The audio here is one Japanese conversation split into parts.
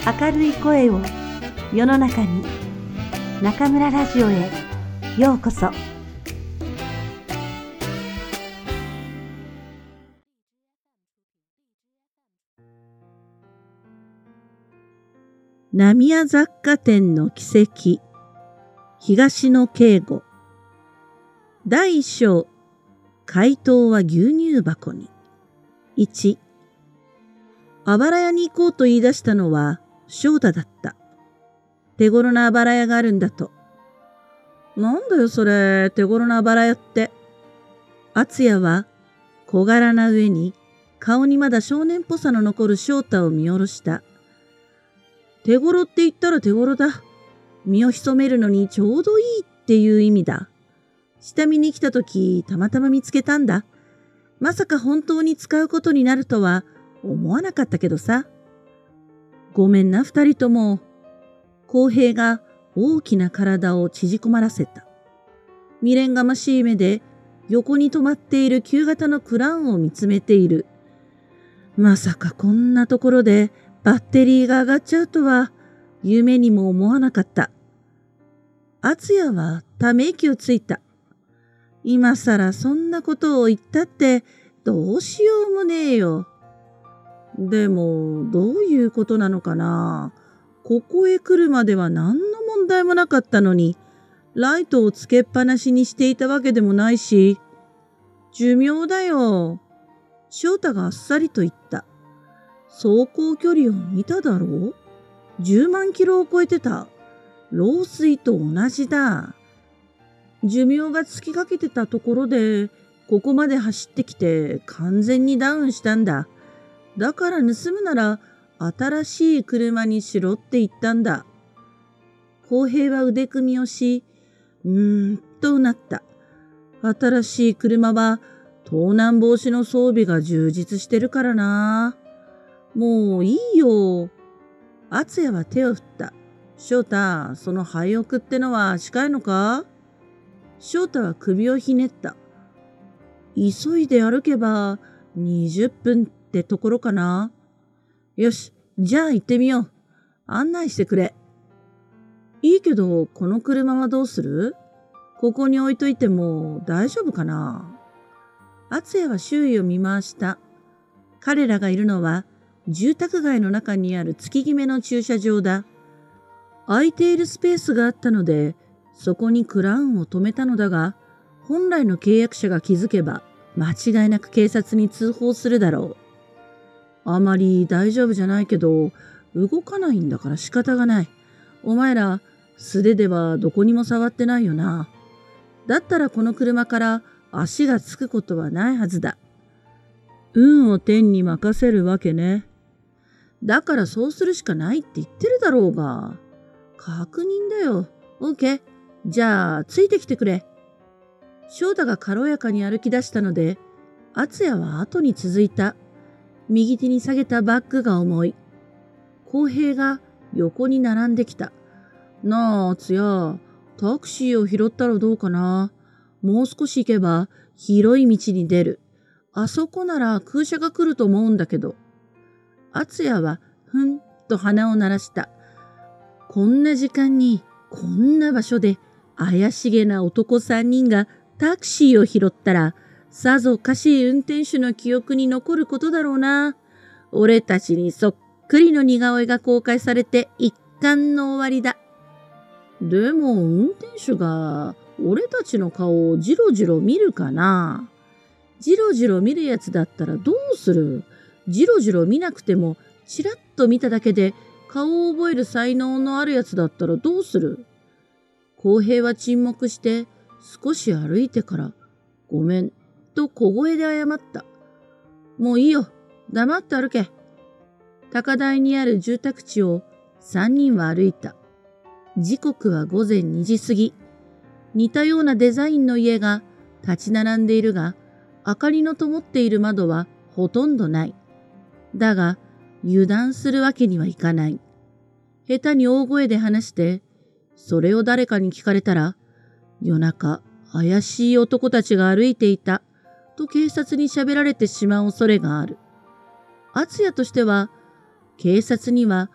明るい声を世の中に。中村ラジオへようこそ。 浪屋雑貨店の奇跡、東野圭吾。第一章、怪盗は牛乳箱に。1、あばら屋に行こうと言い出したのは翔太だった。手頃なあばら屋があるんだと。なんだよそれ、手頃なあばら屋って。敦也は小柄な上に顔にまだ少年っぽさの残る翔太を見下ろした。手頃って言ったら手頃だ。身を潜めるのにちょうどいいっていう意味だ。下見に来た時たまたま見つけたんだ。まさか本当に使うことになるとは思わなかったけどさ。ごめんな二人とも。公平が大きな体を縮こまらせた。未練がましい目で横に止まっている旧型のクラウンを見つめている。まさかこんなところでバッテリーが上がっちゃうとは夢にも思わなかった。敦也はため息をついた。今さらそんなことを言ったってどうしようもねえよ。でもどういうことなのかな。ここへ来るまでは何の問題もなかったのに、ライトをつけっぱなしにしていたわけでもないし、寿命だよ。翔太があっさりと言った。走行距離を見ただろう。10万キロを超えてた。老衰と同じだ。寿命が尽きかけてたところで、ここまで走ってきて完全にダウンしたんだ。だから盗むなら新しい車にしろって言ったんだ。公平は腕組みをし、とうなった。新しい車は盗難防止の装備が充実してるからな。もういいよ。敦也は手を振った。翔太、その廃屋ってのは近いのか？翔太は首をひねった。急いで歩けば20分ってところかな。よし、じゃあ行ってみよう。案内してくれ。いいけど、この車はどうする？ここに置いといても大丈夫かな？敦也は周囲を見回した。彼らがいるのは住宅街の中にある月決めの駐車場だ。空いているスペースがあったので、そこにクラウンを止めたのだが、本来の契約者が気づけば、間違いなく警察に通報するだろう。あまり大丈夫じゃないけど、動かないんだから仕方がない。お前ら、素手ではどこにも触ってないよな。だったらこの車から足がつくことはないはずだ。運を天に任せるわけね。だからそうするしかないって言ってるだろうが。確認だよ。オーケー。じゃあ、ついてきてくれ。翔太が軽やかに歩き出したので、敦也は後に続いた。右手に下げたバッグが重い。公平が横に並んできた。なあ、敦也、タクシーを拾ったらどうかな。もう少し行けば広い道に出る。あそこなら空車が来ると思うんだけど。敦也はふんと鼻を鳴らした。こんな時間にこんな場所で怪しげな男3人がタクシーを拾ったら、さぞかしい運転手の記憶に残ることだろうな。俺たちにそっくりの似顔絵が公開されて一巻の終わりだ。でも運転手が俺たちの顔をじろじろ見るかな。じろじろ見るやつだったらどうする？じろじろ見なくてもちらっと見ただけで顔を覚える才能のあるやつだったらどうする？公平は沈黙して少し歩いてからごめんと小声で謝った。もういいよ。黙って歩け。高台にある住宅地を3人は歩いた。時刻は午前2時過ぎ。似たようなデザインの家が立ち並んでいるが、明かりの灯っている窓はほとんどない。だが、油断するわけにはいかない。下手に大声で話して、それを誰かに聞かれたら、夜中、怪しい男たちが歩いていた、と警察に喋られてしまう恐れがある。敦也としては、警察には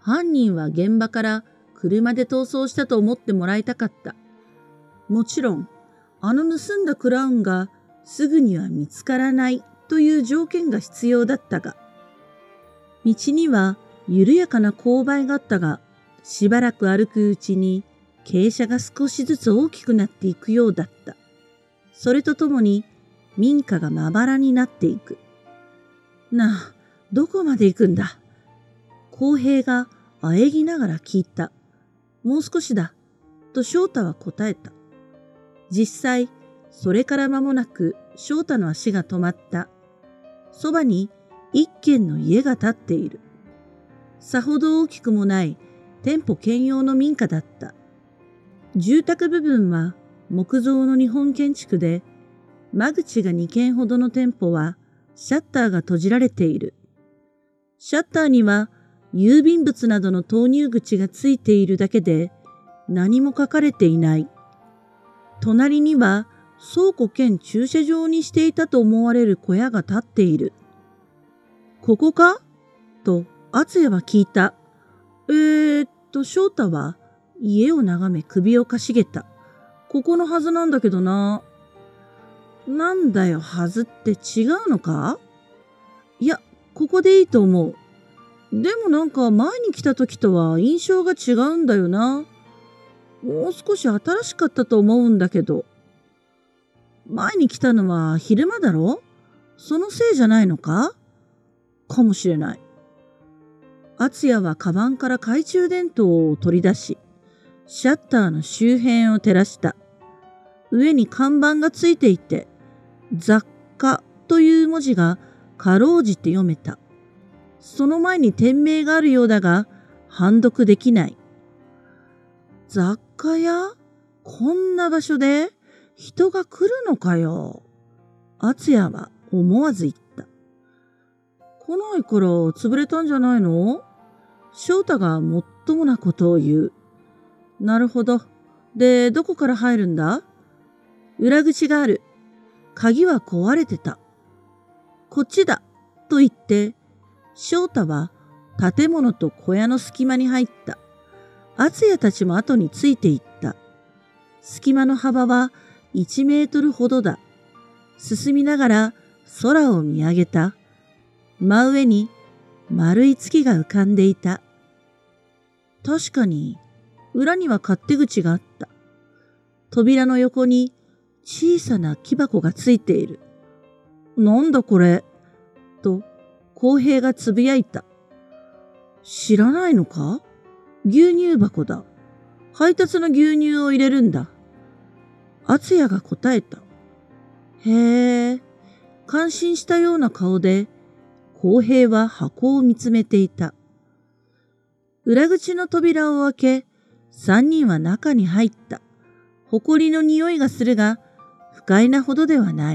犯人は現場から車で逃走したと思ってもらいたかった。もちろん、盗んだクラウンがすぐには見つからないという条件が必要だったが、道には緩やかな勾配があったが、しばらく歩くうちに傾斜が少しずつ大きくなっていくようだった。それとともに民家がまばらになっていく。なあ、どこまで行くんだ？公平があえぎながら聞いた。もう少しだ、と翔太は答えた。実際、それから間もなく翔太の足が止まった。そばに一軒の家が建っている。さほど大きくもない店舗兼用の民家だった。住宅部分は木造の日本建築で、間口が2軒ほどの店舗はシャッターが閉じられている。シャッターには郵便物などの投入口がついているだけで何も書かれていない。隣には倉庫兼駐車場にしていたと思われる小屋が建っている。ここか？と敦也は聞いた。翔太は家を眺め首をかしげた。ここのはずなんだけどな。なんだよ、はずって違うのか？いや、ここでいいと思う。でもなんか前に来た時とは印象が違うんだよな。もう少し新しかったと思うんだけど。前に来たのは昼間だろ？そのせいじゃないのか？かもしれない。敦也はカバンから懐中電灯を取り出し、シャッターの周辺を照らした。上に看板がついていて、雑貨という文字がかろうじて読めた。その前に店名があるようだが、判読できない。雑貨屋？こんな場所で人が来るのかよ。敦也は思わず言った。来ないから潰れたんじゃないの？翔太がもっともなことを言う。なるほど。で、どこから入るんだ？裏口がある。鍵は壊れてた。こっちだ。と言って、翔太は建物と小屋の隙間に入った。敦也たちも後についていった。隙間の幅は1メートルほどだ。進みながら空を見上げた。真上に丸い月が浮かんでいた。確かに裏には勝手口があった。扉の横に小さな木箱がついている。なんだこれと公平がつぶやいた。知らないのか？牛乳箱だ。配達の牛乳を入れるんだ。敦也が答えた。へえ、感心したような顔で公平は箱を見つめていた。裏口の扉を開け、三人は中に入った。埃の匂いがするが、不快なほどではない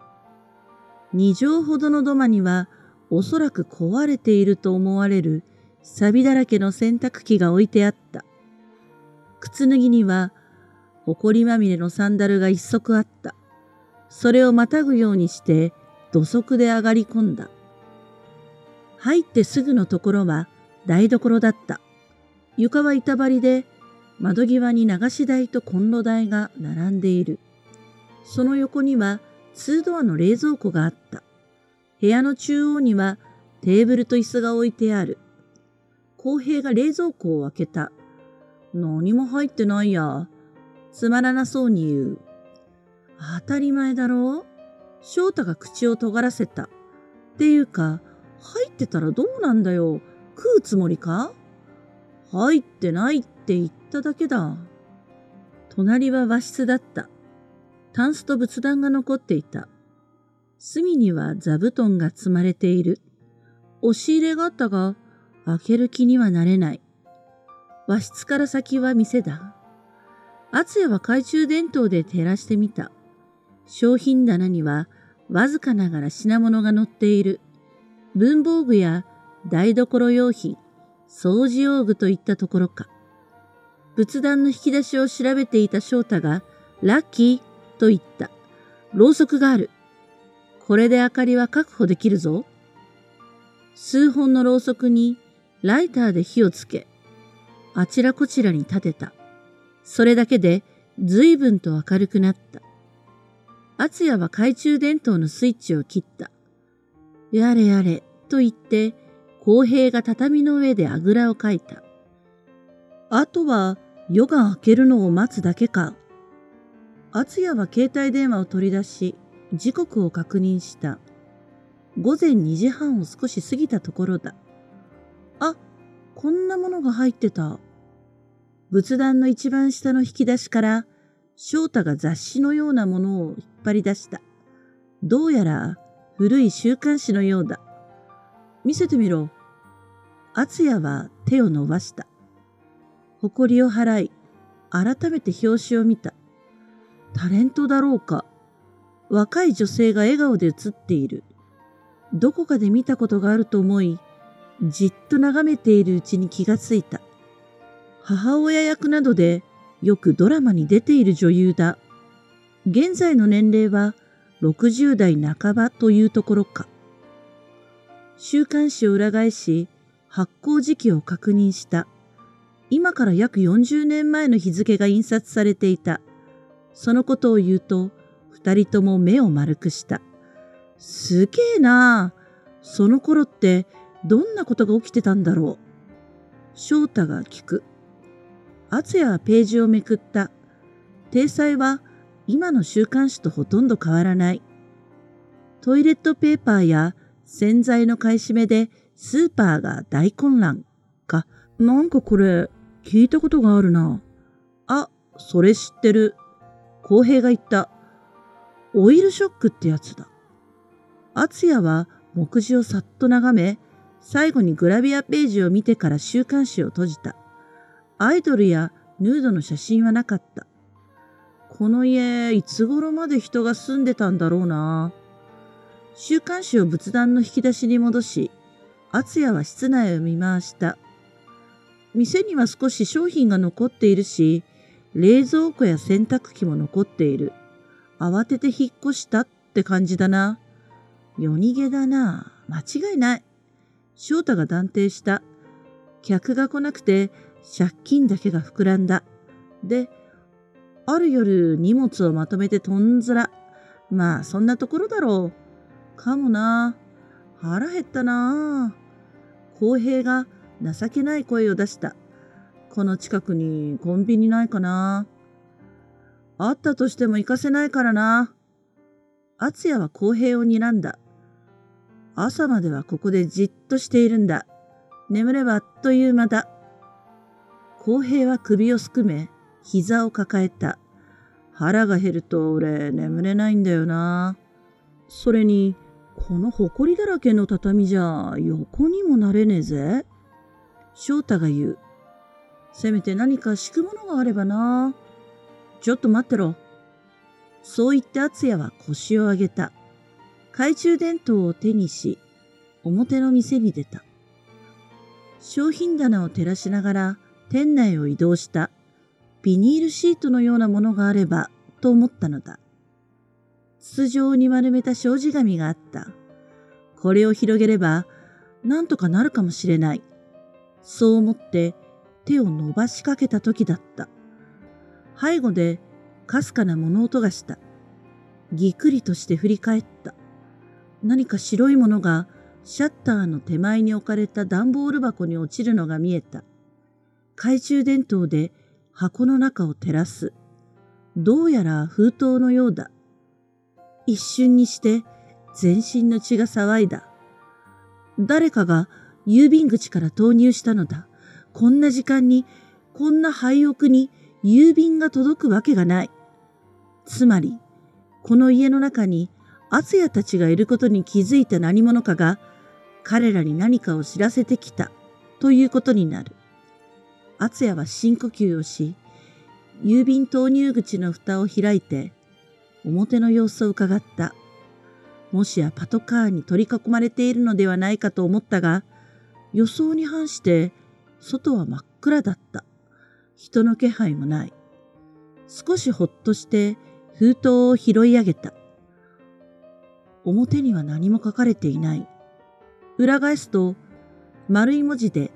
。2畳ほどの土間には、おそらく壊れていると思われる錆だらけの洗濯機が置いてあった。靴脱ぎには、埃まみれのサンダルが一足あった。それをまたぐようにして、土足で上がり込んだ。入ってすぐのところは台所だった。床は板張りで、窓際に流し台とコンロ台が並んでいる。その横には2ドアの冷蔵庫があった。部屋の中央にはテーブルと椅子が置いてある。公平が冷蔵庫を開けた。何も入ってないや。つまらなそうに言う。当たり前だろう。翔太が口を尖らせた。っていうか、入ってたらどうなんだよ。食うつもりか？入ってないって言っただけだ。隣は和室だった。タンスと仏壇が残っていた。隅には座布団が積まれている。押し入れがあったが、開ける気にはなれない。和室から先は店だ。敦也は懐中電灯で照らしてみた。商品棚にはわずかながら品物が載っている。文房具や台所用品、掃除用具といったところか。仏壇の引き出しを調べていた翔太が、ラッキーと言った。ろうそくがある。これで明かりは確保できるぞ。数本のろうそくにライターで火をつけ、あちらこちらに立てた。それだけで随分と明るくなった。敦也は懐中電灯のスイッチを切った。やれやれと言って、公平が畳の上であぐらをかいた。あとは夜が明けるのを待つだけか。敦也は携帯電話を取り出し、時刻を確認した。午前2時半を少し過ぎたところだ。あ、こんなものが入ってた。仏壇の一番下の引き出しから、翔太が雑誌のようなものを引っ張り出した。どうやら古い週刊誌のようだ。見せてみろ。敦也は手を伸ばした。埃を払い、改めて表紙を見た。タレントだろうか。若い女性が笑顔で写っている。どこかで見たことがあると思い、じっと眺めているうちに気がついた。母親役などでよくドラマに出ている女優だ。現在の年齢は60代半ばというところか。週刊誌を裏返し、発行時期を確認した。今から約40年前の日付が印刷されていた。そのことを言うと、二人とも目を丸くした。すげえなあ。その頃ってどんなことが起きてたんだろう。翔太が聞く。敦也はページをめくった。体裁は今の週刊誌とほとんど変わらない。トイレットペーパーや洗剤の買い占めでスーパーが大混乱か。なんかこれ聞いたことがあるな。あ、それ知ってる。公平が言った。オイルショックってやつだ。敦也は目次をさっと眺め、最後にグラビアページを見てから週刊誌を閉じた。アイドルやヌードの写真はなかった。この家、いつ頃まで人が住んでたんだろうな。週刊誌を仏壇の引き出しに戻し、敦也は室内を見回した。店には少し商品が残っているし、冷蔵庫や洗濯機も残っている。慌てて引っ越したって感じだな。夜逃げだな。間違いない。翔太が断定した。客が来なくて借金だけが膨らんだ。で、ある夜荷物をまとめてとんずら。まあそんなところだろう。かもな。腹減ったな。公平が情けない声を出した。この近くにコンビニないかな。あったとしても行かせないからな。敦也は公平を睨んだ。朝まではここでじっとしているんだ。眠ればあっという間だ。公平は首をすくめ、膝を抱えた。腹が減ると俺眠れないんだよな。それに、この埃だらけの畳じゃ横にもなれねえぜ。翔太が言う。せめて何か敷くものがあればな。ちょっと待ってろ。そう言って敦也は腰を上げた。懐中電灯を手にし、表の店に出た。商品棚を照らしながら店内を移動した。ビニールシートのようなものがあればと思ったのだ。筒状に丸めた障子紙があった。これを広げればなんとかなるかもしれない。そう思って手を伸ばしかけた時だった。背後でかすかな物音がした。ぎくりとして振り返った。何か白いものがシャッターの手前に置かれた段ボール箱に落ちるのが見えた。懐中電灯で箱の中を照らす。どうやら封筒のようだ。一瞬にして全身の血が騒いだ。誰かが郵便口から投入したのだ。こんな時間に、こんな廃屋に郵便が届くわけがない。つまり、この家の中に敦也たちがいることに気づいた何者かが彼らに何かを知らせてきたということになる。敦也は深呼吸をし、郵便投入口の蓋を開いて表の様子を伺った。もしやパトカーに取り囲まれているのではないかと思ったが、予想に反して外は真っ暗だった。人の気配もない。少しほっとして封筒を拾い上げた。表には何も書かれていない。裏返すと丸い文字で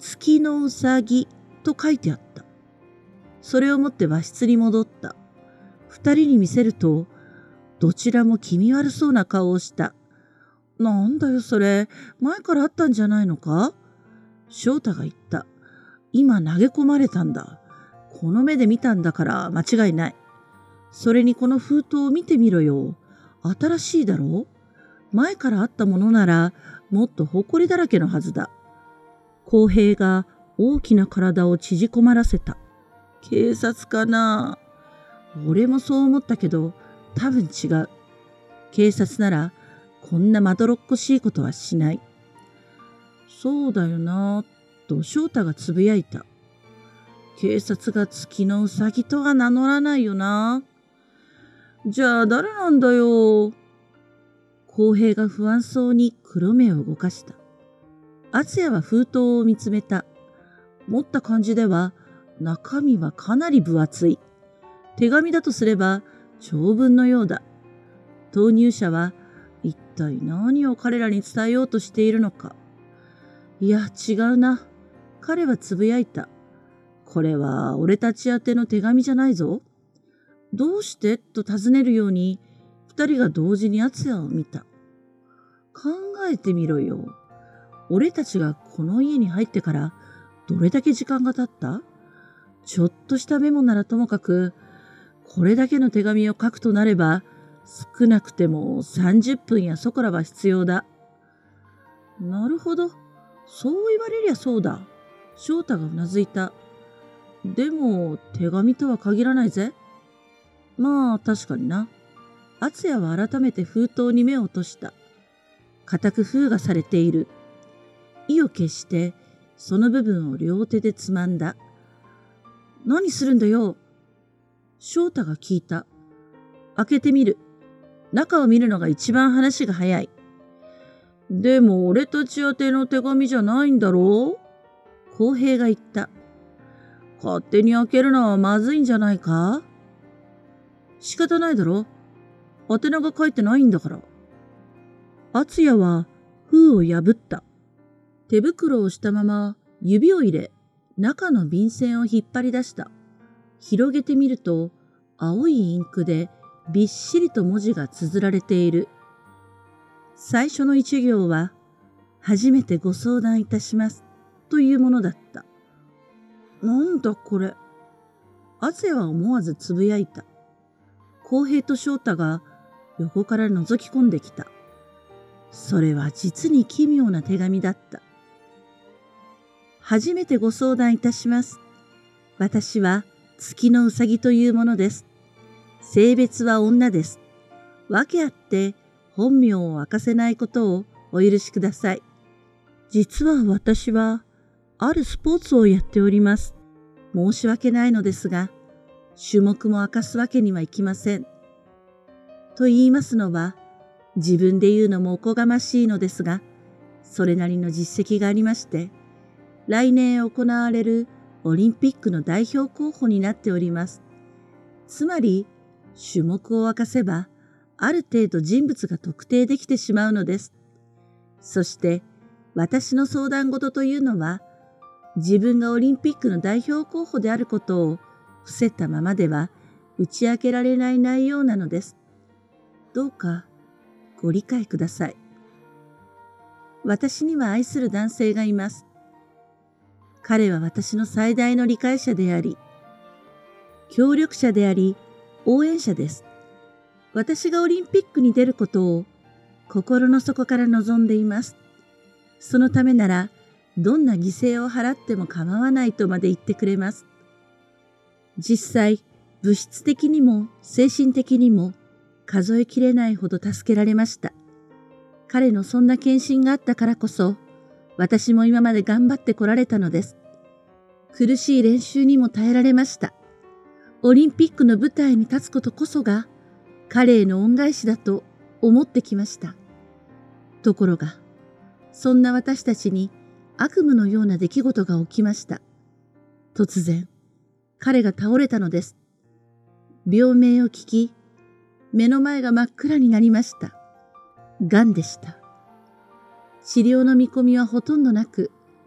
月のうさぎと書いてあった。それを持って和室に戻った。二人に見せると、どちらも気味悪そうな顔をした。なんだよそれ、前からあったんじゃないのか？翔太が言った。今投げ込まれたんだ。この目で見たんだから間違いない。それにこの封筒を見てみろよ。新しいだろう？前からあったものならもっと埃だらけのはずだ。公平が大きな体を縮こまらせた。警察かな？俺もそう思ったけど多分違う。警察ならこんなまどろっこしいことはしない。そうだよなぁと翔太がつぶやいた。警察が月のうさぎとは名乗らないよな。じゃあ誰なんだよ。公平が不安そうに黒目を動かした。敦也は封筒を見つめた。持った感じでは中身はかなり分厚い。手紙だとすれば長文のようだ。投入者は一体何を彼らに伝えようとしているのか。いや違うな。彼はつぶやいた。これは俺たち宛ての手紙じゃないぞ。どうしてと尋ねるように二人が同時に敦也を見た。考えてみろよ。俺たちがこの家に入ってからどれだけ時間が経った？ちょっとしたメモならともかく、これだけの手紙を書くとなれば、少なくても30分やそこらは必要だ。なるほど。そう言われりゃそうだ。翔太がうなずいた。でも、手紙とは限らないぜ。まあ、確かにな。敦也は改めて封筒に目を落とした。固く封がされている。意を決して、その部分を両手でつまんだ。何するんだよ。翔太が聞いた。開けてみる。中を見るのが一番話が早い。でも俺たち宛ての手紙じゃないんだろう？公平が言った。勝手に開けるのはまずいんじゃないか？仕方ないだろ。宛名が書いてないんだから。敦也は封を破った。手袋をしたまま指を入れ、中の便箋を引っ張り出した。広げてみると、青いインクでびっしりと文字が綴られている。最初の一行は、初めてご相談いたします、というものだった。なんだこれ。敦也は思わずつぶやいた。公平と翔太が横から覗き込んできた。それは実に奇妙な手紙だった。初めてご相談いたします。私は月のうさぎというものです。性別は女です。訳あって本名を明かせないことをお許しください。実は私はあるスポーツをやっております。申し訳ないのですが、種目も明かすわけにはいきません。と言いますのは、自分で言うのもおこがましいのですが、それなりの実績がありまして、来年行われるオリンピックの代表候補になっております。つまり、種目を明かせば、ある程度人物が特定できてしまうのです。そして、私の相談事というのは、自分がオリンピックの代表候補であることを伏せたままでは打ち明けられない内容なのです。どうかご理解ください。私には愛する男性がいます。彼は私の最大の理解者であり、協力者であり、応援者です。私がオリンピックに出ることを心の底から望んでいます。そのためなら、どんな犠牲を払っても構わないとまで言ってくれます。実際、物質的にも精神的にも数えきれないほど助けられました。彼のそんな献身があったからこそ、私も今まで頑張ってこられたのです。苦しい練習にも耐えられました。オリンピックの舞台に立つことこそが、彼への恩返しだと思ってきました。ところが、そんな私たちに悪夢のような出来事が起きました。突然、彼が倒れたのです。病名を聞き、目の前が真っ暗になりました。癌でした。治療の見込みはほとんどなく、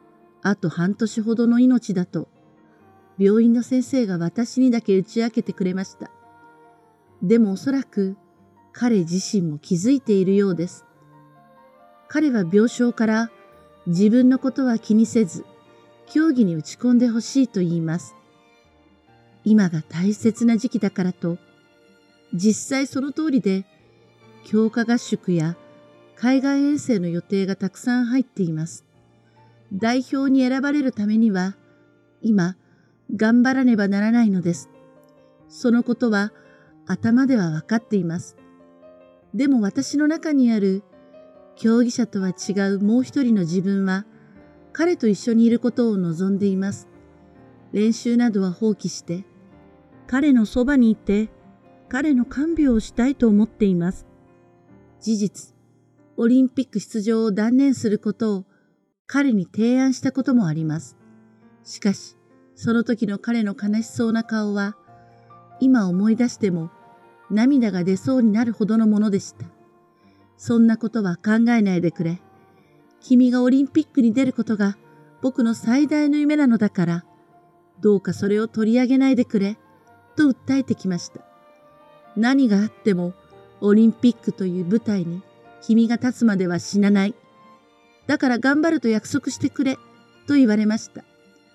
あと半年ほどの命だと、病院の先生が私にだけ打ち明けてくれました。でもおそらく彼自身も気づいているようです。彼は病床から自分のことは気にせず、競技に打ち込んでほしいと言います。今が大切な時期だからと、実際その通りで、強化合宿や海外遠征の予定がたくさん入っています。代表に選ばれるためには、今、頑張らねばならないのです。そのことは頭では分かっています。でも私の中にある競技者とは違うもう一人の自分は、彼と一緒にいることを望んでいます。練習などは放棄して、彼のそばにいて、彼の看病をしたいと思っています。事実、オリンピック出場を断念することを彼に提案したこともあります。しかし、その時の彼の悲しそうな顔は、今思い出しても涙が出そうになるほどのものでした。そんなことは考えないでくれ。君がオリンピックに出ることが僕の最大の夢なのだから、どうかそれを取り上げないでくれ、と訴えてきました。何があってもオリンピックという舞台に君が立つまでは死なない。だから頑張ると約束してくれ、と言われました。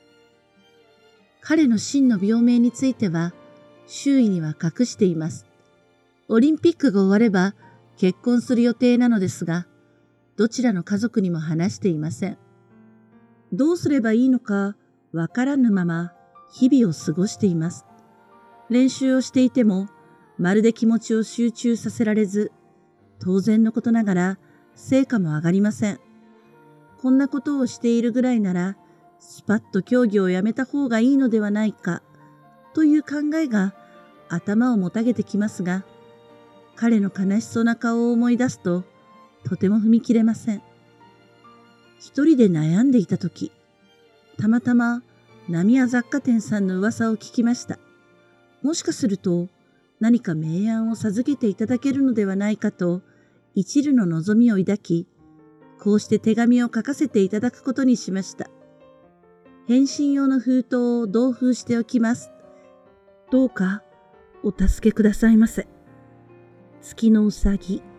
彼の真の病名については、周囲には隠しています。オリンピックが終われば結婚する予定なのですが、どちらの家族にも話していません。どうすればいいのかわからぬまま日々を過ごしています。練習をしていても、まるで気持ちを集中させられず、当然のことながら成果も上がりません。こんなことをしているぐらいなら、スパッと競技をやめた方がいいのではないか、という考えが頭をもたげてきますが、彼の悲しそうな顔を思い出すと、とても踏み切れません。一人で悩んでいたとき、たまたま浪屋雑貨店さんの噂を聞きました。もしかすると何か名案を授けていただけるのではないかと一縷の望みを抱き、こうして手紙を書かせていただくことにしました。返信用の封筒を同封しておきます。どうかお助けくださいませ。月のうさぎ。